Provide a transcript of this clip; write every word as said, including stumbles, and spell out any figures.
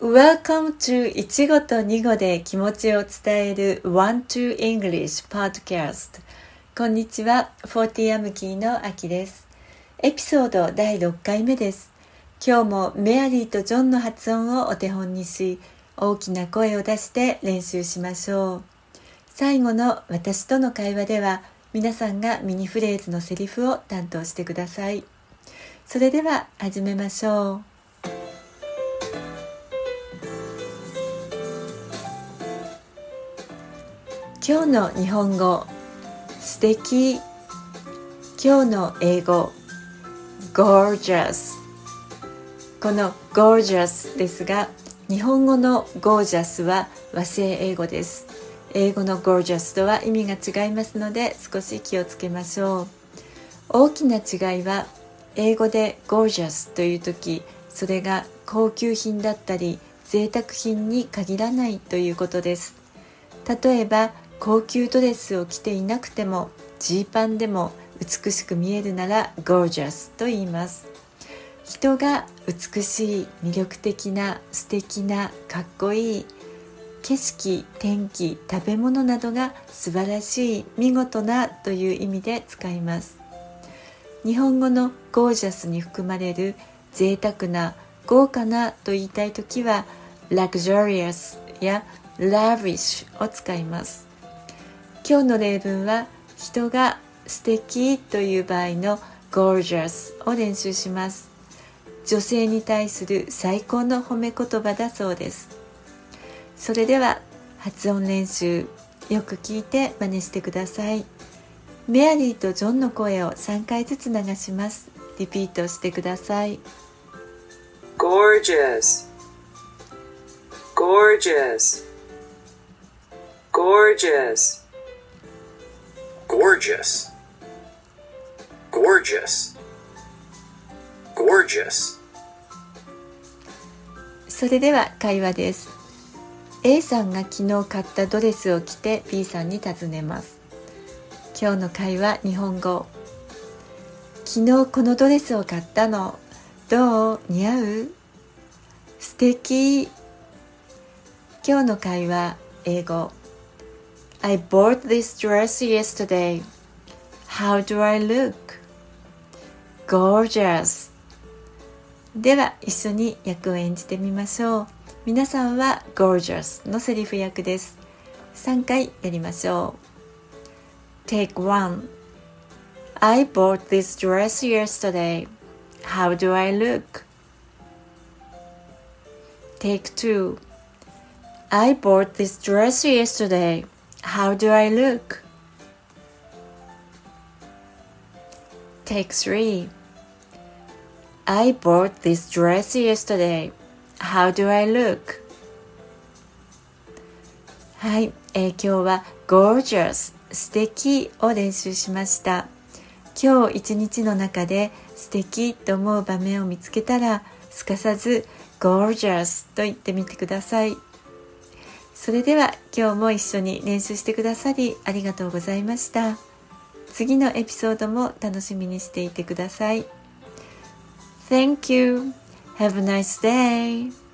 Welcome to いちごとにごで気持ちを伝える Want to English Podcast。 こんにちは、フォーティーアムキーのあきです。エピソードだいろっかいめです。今日もメアリーとジョンの発音をお手本にし、大きな声を出して練習しましょう。最後の私との会話では、皆さんがミニフレーズのセリフを担当してください。それでは始めましょう。今日の日本語、素敵。今日の英語、gorgeous。この gorgeous ですが、日本語の gorgeous は和製英語です。英語の gorgeous とは意味が違いますので、少し気をつけましょう。大きな違いは、英語で gorgeous というとき、それが高級品だったり、贅沢品に限らないということです。例えば、高級ドレスを着ていなくてもジーパンでも美しく見えるなら gorgeous と言います。人が美しい、魅力的な、素敵な、かっこいい、景色、天気、食べ物などが素晴らしい、見事なという意味で使います。日本語の gorgeous に含まれる贅沢な、豪華なと言いたいときは luxurious や lavish を使います。今日の例文は人が素敵という場合の gorgeous を練習します。女性に対する最高の褒め言葉だそうです。それでは発音練習、よく聞いて真似してください。メアリーとジョンの声をさんかいずつ流します。リピートしてください。 Gorgeous Gorgeous Gorgeous Gorgeous, gorgeous, gorgeous. それでは会話です。 A さんが昨日買ったドレスを着て B さんに尋ねます。今日の会話日本語。昨日このドレスを買ったの。どう？似合う？素敵。今日の会話英語。I bought this dress yesterday. How do I look? Gorgeous. では一緒に役を演じてみましょう。皆さんは gorgeous のセリフ役です。さんかいやりましょう。Take one. I bought this dress yesterday. How do I look? Take two. I bought this dress yesterday.How do I look? Take three. I bought this dress yesterday. How do I look? はい、えー、今日は gorgeous 素敵を練習しました。今日一日の中で素敵と思う場面を見つけたら、すかさず gorgeous と言ってみてください。それでは今日も一緒に練習してくださりありがとうございました。次のエピソードも楽しみにしていてください。Thank you. Have a nice day.